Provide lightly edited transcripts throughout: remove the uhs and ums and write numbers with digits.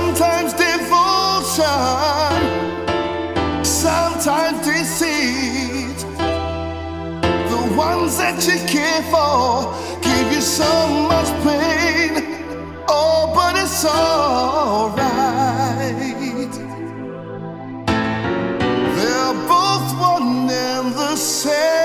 Sometimes devotion, sometimes deceit. The ones that you care for give you so much pain. Oh, but it's alright. They're both one and the same.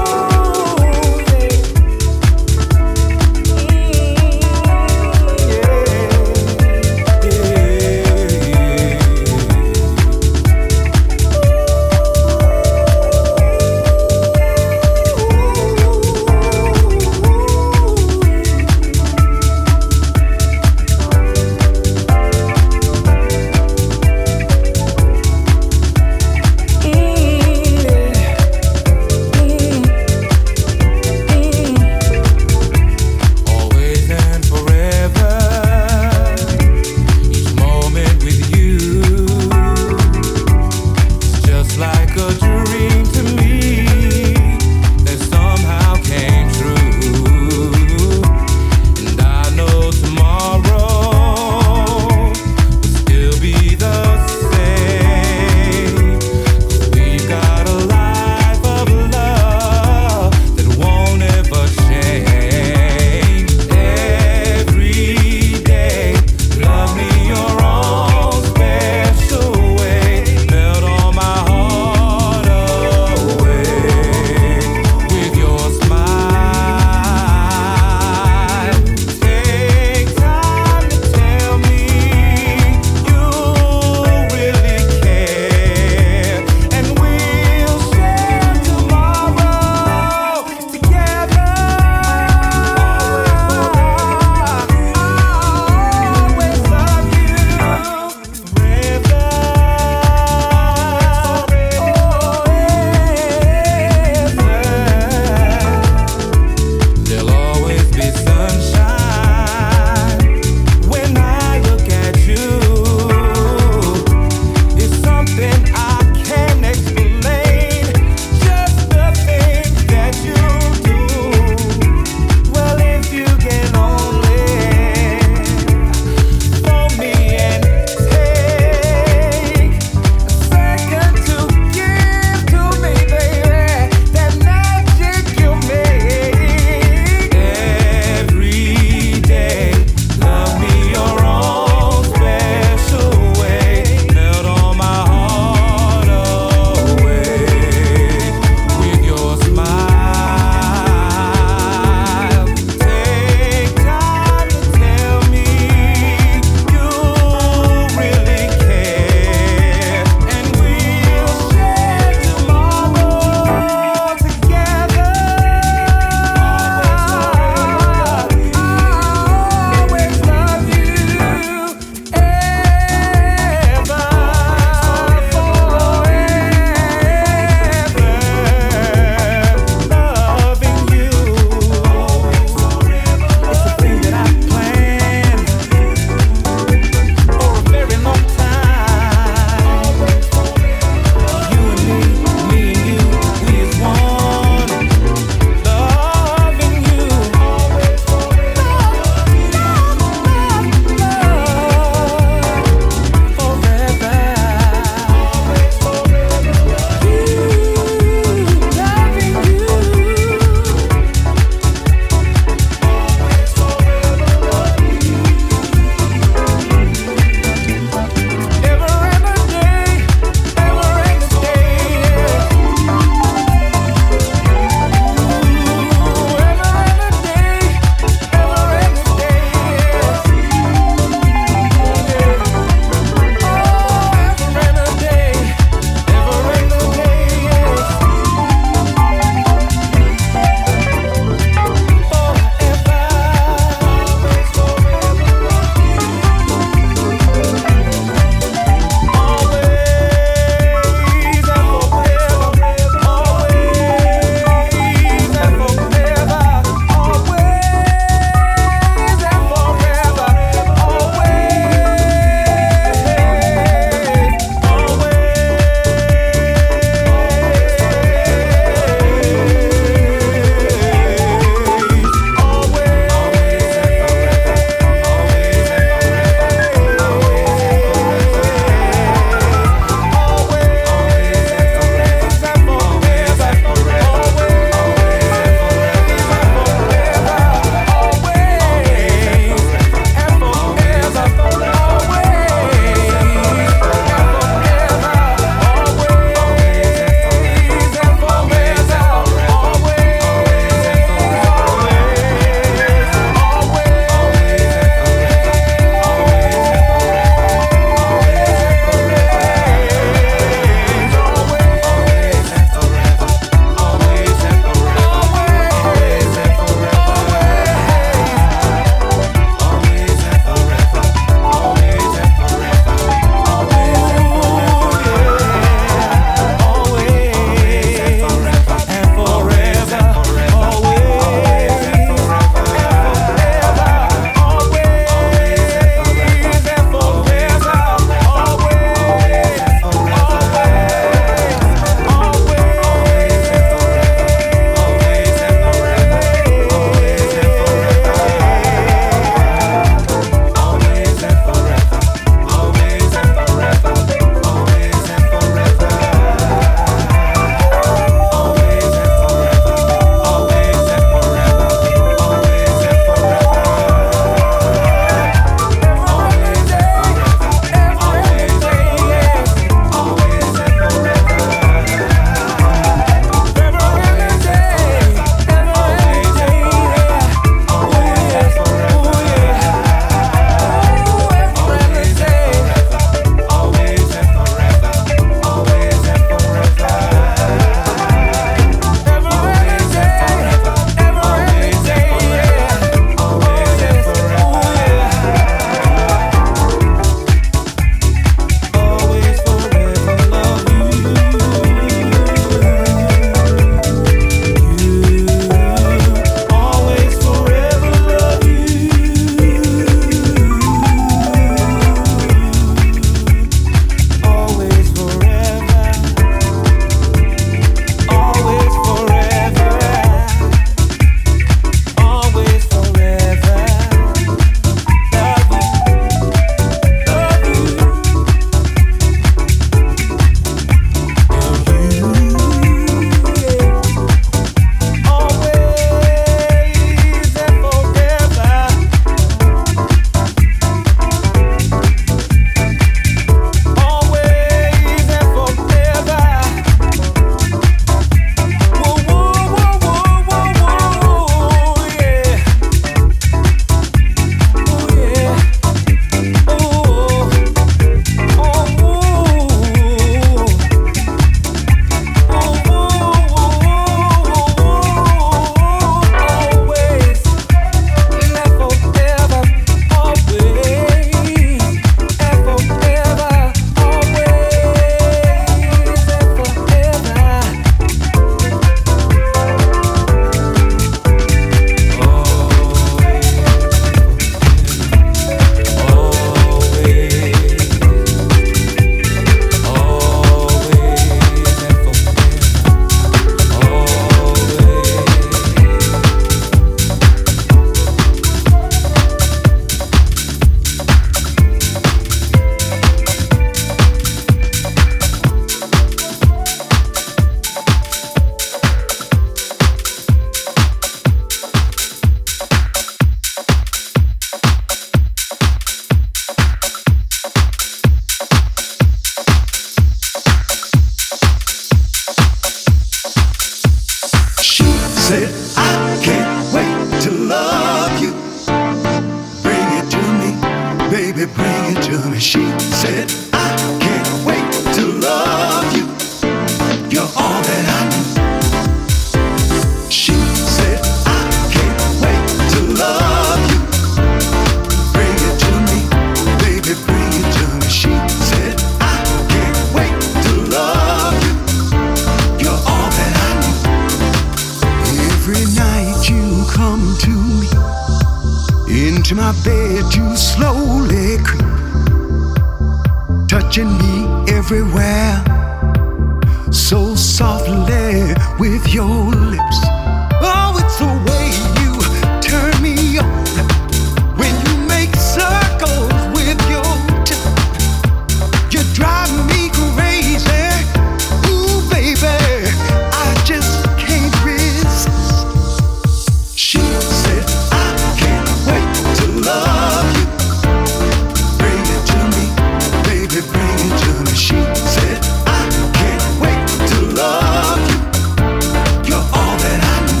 to me. She said, I can't wait to love you. You're all that I need. She said, I can't wait to love you. Bring it to me, baby, bring it to me. She said, I can't wait to love you. You're all that I need. Every night you come to me, into my bed you slowly creep, touching me everywhere, so softly with your lips. Oh, it's the way you turn me on when you make circles with your tip. You drive me crazy. Ooh, baby, I just can't resist. She said, I can't wait to love you. Bring it to me, baby, bring it to me. She said, I can't wait to love you. You're all that I need.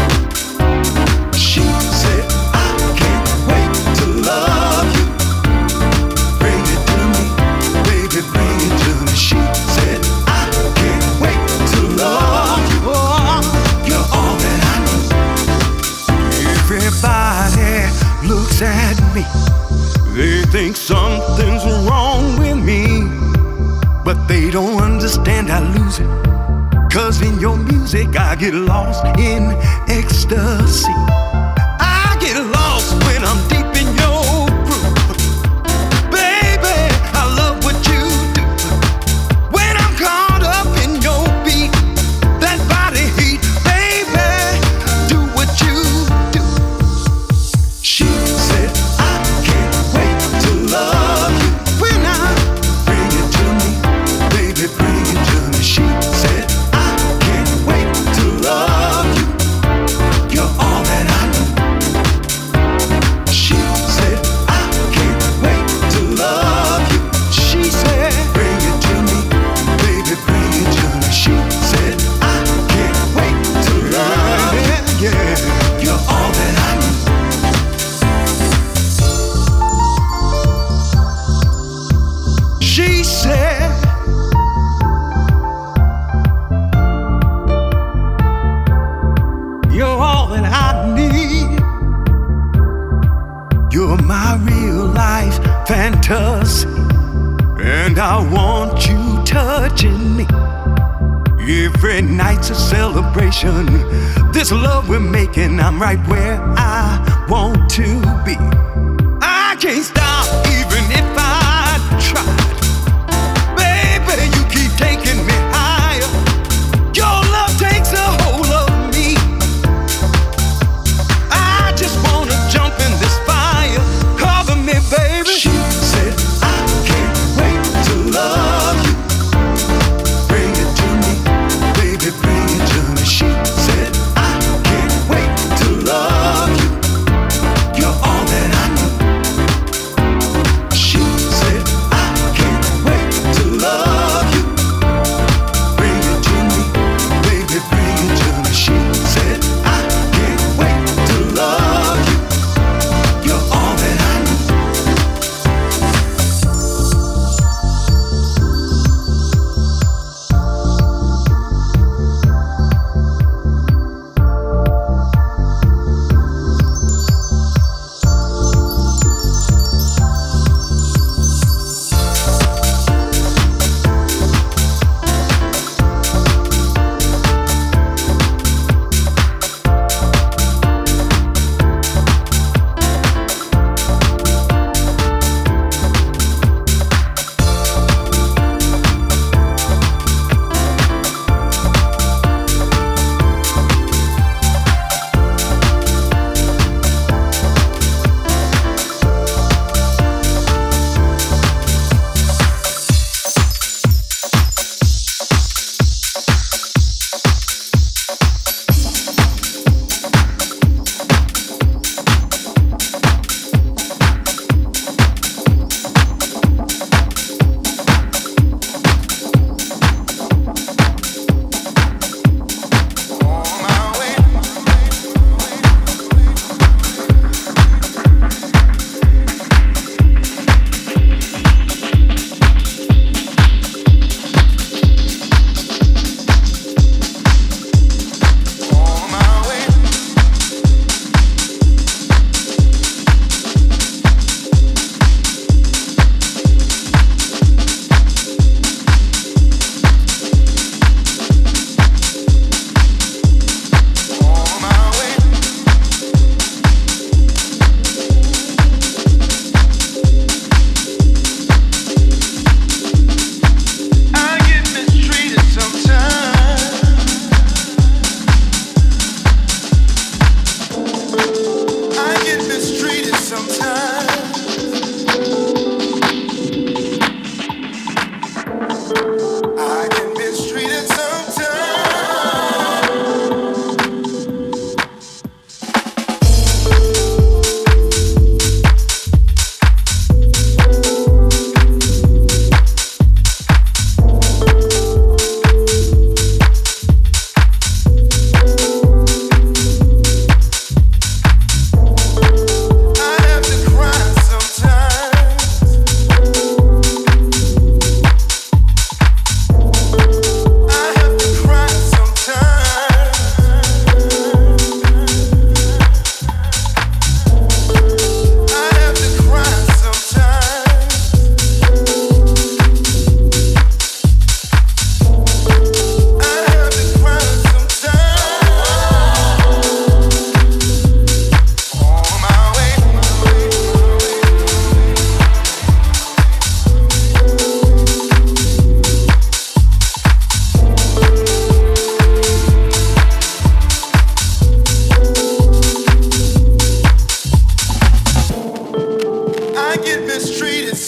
She said, I can't wait to love you. Bring it to me, baby, bring it to me. She said, I can't wait to love you. Oh, you're all that I need. Everybody looks at me. They think something's wrong with me, but they don't understand I lose it. 'Cause in your music I get lost in ecstasy. I get lost when I'm deep in your groove. Baby, I love what you do. When I'm caught up in your beat, that body heat, baby, do what you do. She said, I can't wait to love you. When I bring it to me, baby, bring it to me. She said, I can't wait to love you. You're all that I need. She said, I can't wait to love you. She said, bring it to me, baby, bring it to me. She said, I can't wait to love you. Yeah, you're all that I need. She said, you're all that I need. You're my real life fantasy, and I want you touching me. Every night's a celebration. This love we're making, I'm right where I want to be. I can't stop even if I tried. Baby, you keep taking me higher. Your love takes a hold of me. I just wanna jump in this fire. Cover me, baby. She said, I can't wait to love you. Bring it to me, baby, bring it to me. She said, I can't wait to love you. You're all that I need.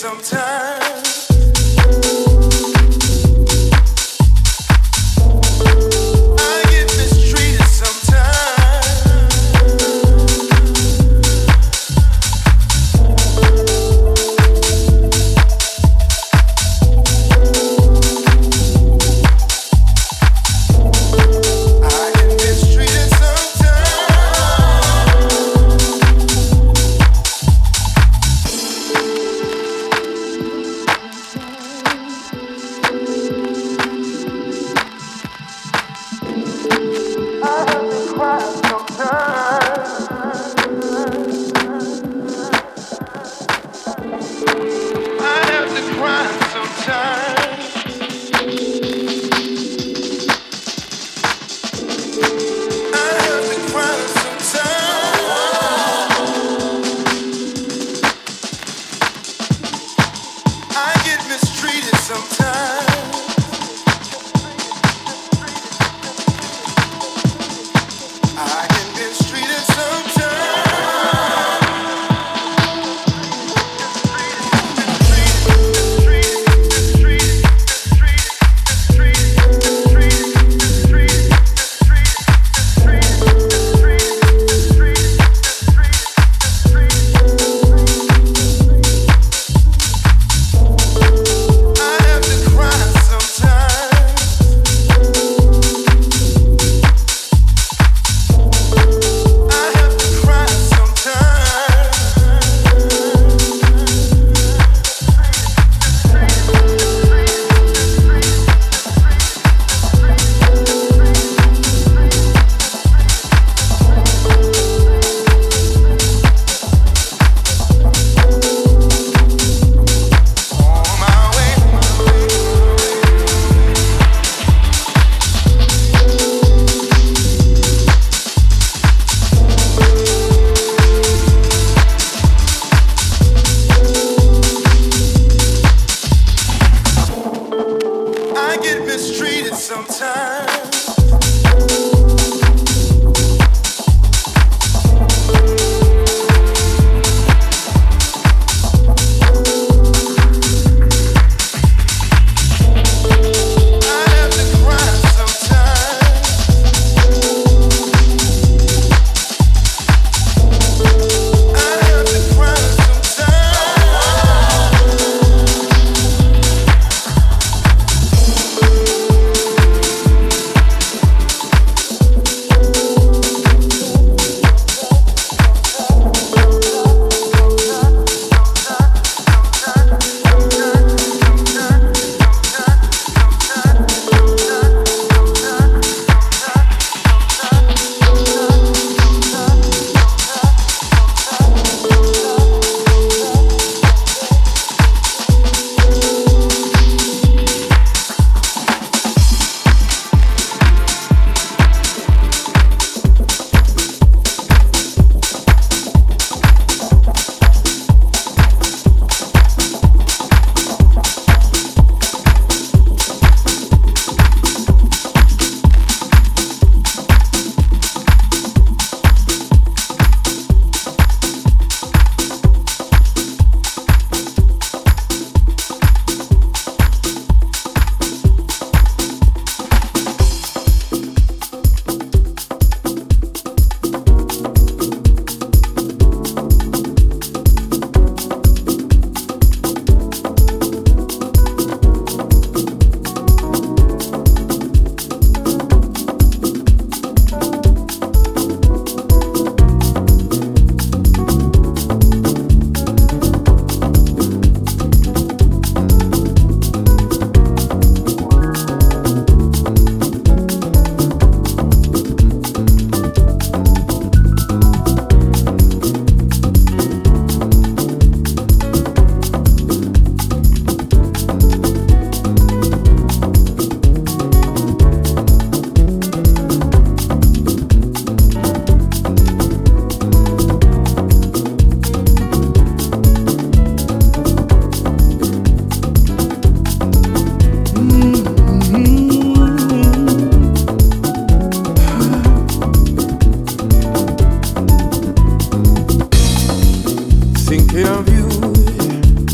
thinking of you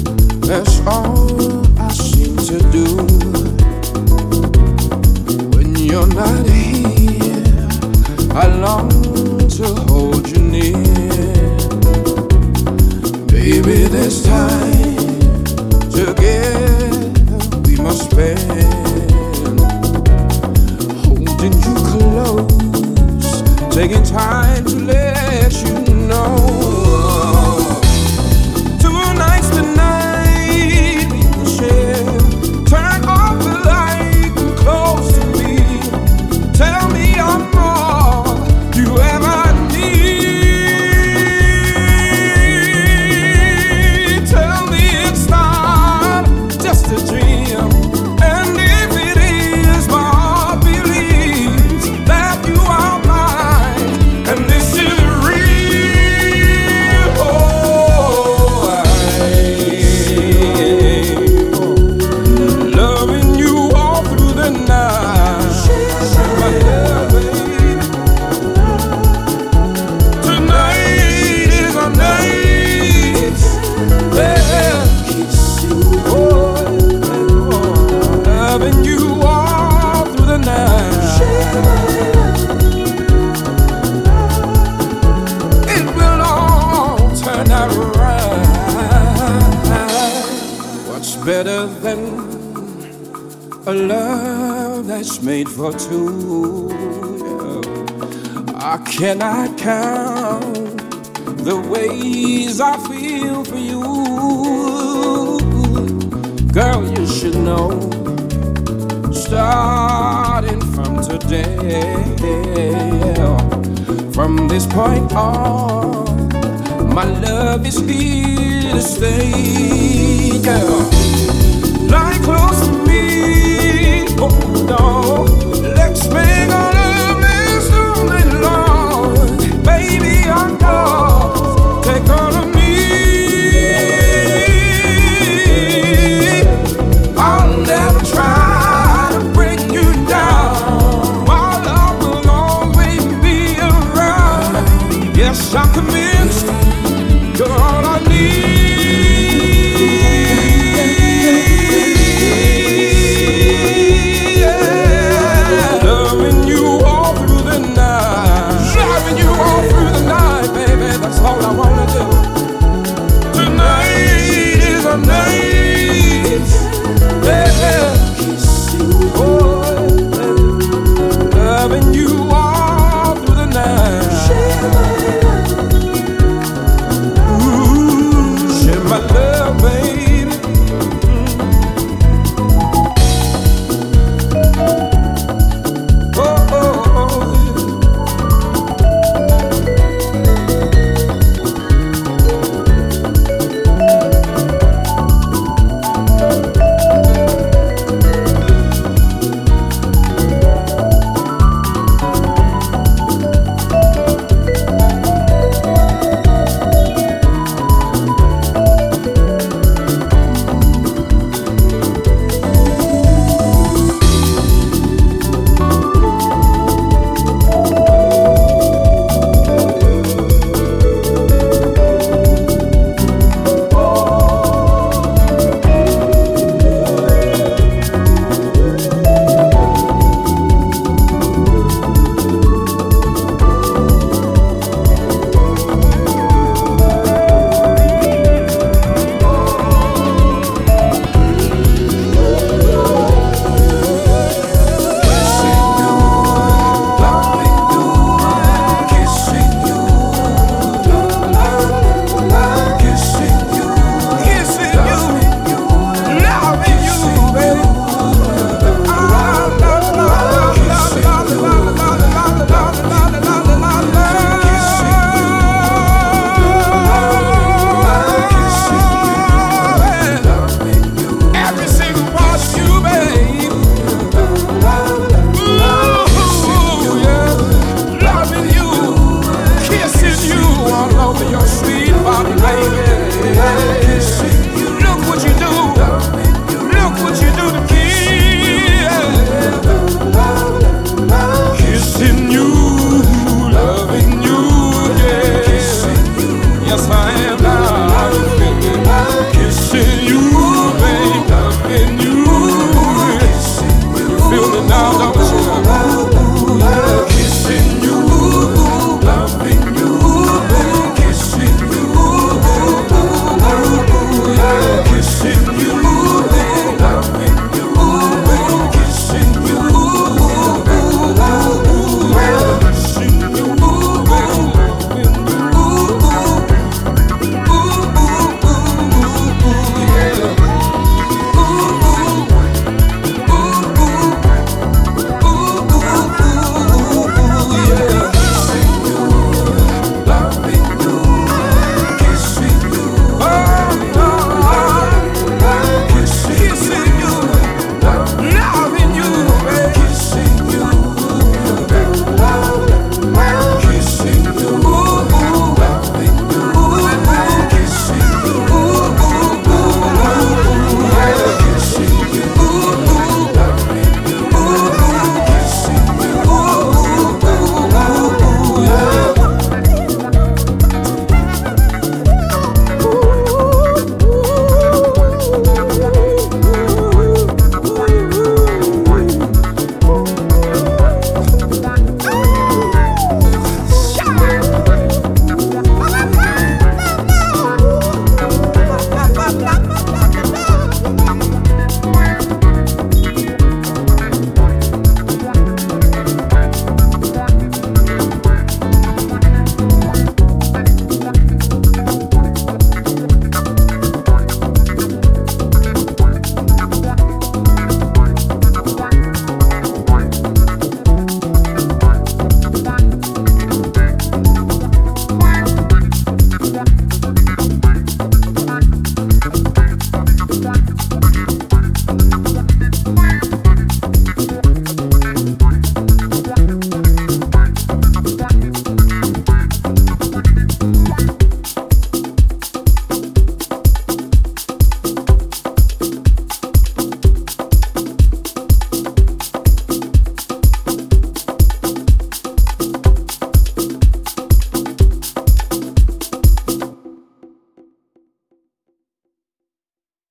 That's all I seem to do. When you're not here, I long to hold you near. Baby, this time together we must spend, holding you close, taking time to let you know. Tonight's the night we will share. Turn off the light and close to me. Tell me I'm all you ever need. Tell me it's not just a dream. And if it is, my heart believes that you are mine. And this is real. Oh, loving you all through the night. My love, baby. Tonight is our night. Yeah. Oh, loving you all through the night. It will all turn out right. What's better than a love that's made for two? Yeah. I cannot count the ways I feel for you. Girl, you should know, starting from today, from this point on, my love is here to stay. Girl, lie close to me, hold on, let's make our love last all night long. Baby, I'm yours, take all of me. I'll never try to break you down. My love will always be around. Yes, I'm convinced you're all I need. Yeah. Loving you all through the night. Loving you all through the night, baby. That's all I wanna do. Tonight is our night. Yeah. Oh, loving you all through the night. Ooh, share my love, baby. Oh, oh, oh, Yes, I am now. Kissing you.